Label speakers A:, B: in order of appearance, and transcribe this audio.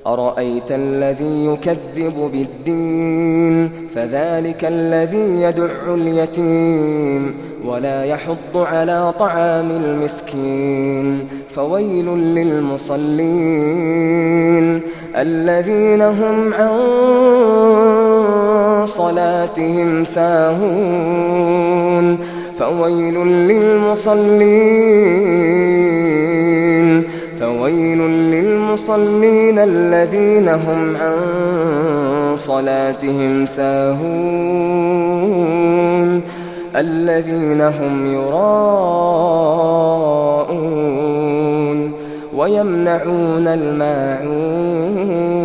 A: أرأيت الذي يكذب بالدين فذلك الذي يدع اليتيم ولا يحض على طعام المسكين فويل للمصلين الذين هم عن صلاتهم ساهون فويل للمصلين الذين هم عن صلاتهم ساهون الذين هم يراءون ويمنعون الماعون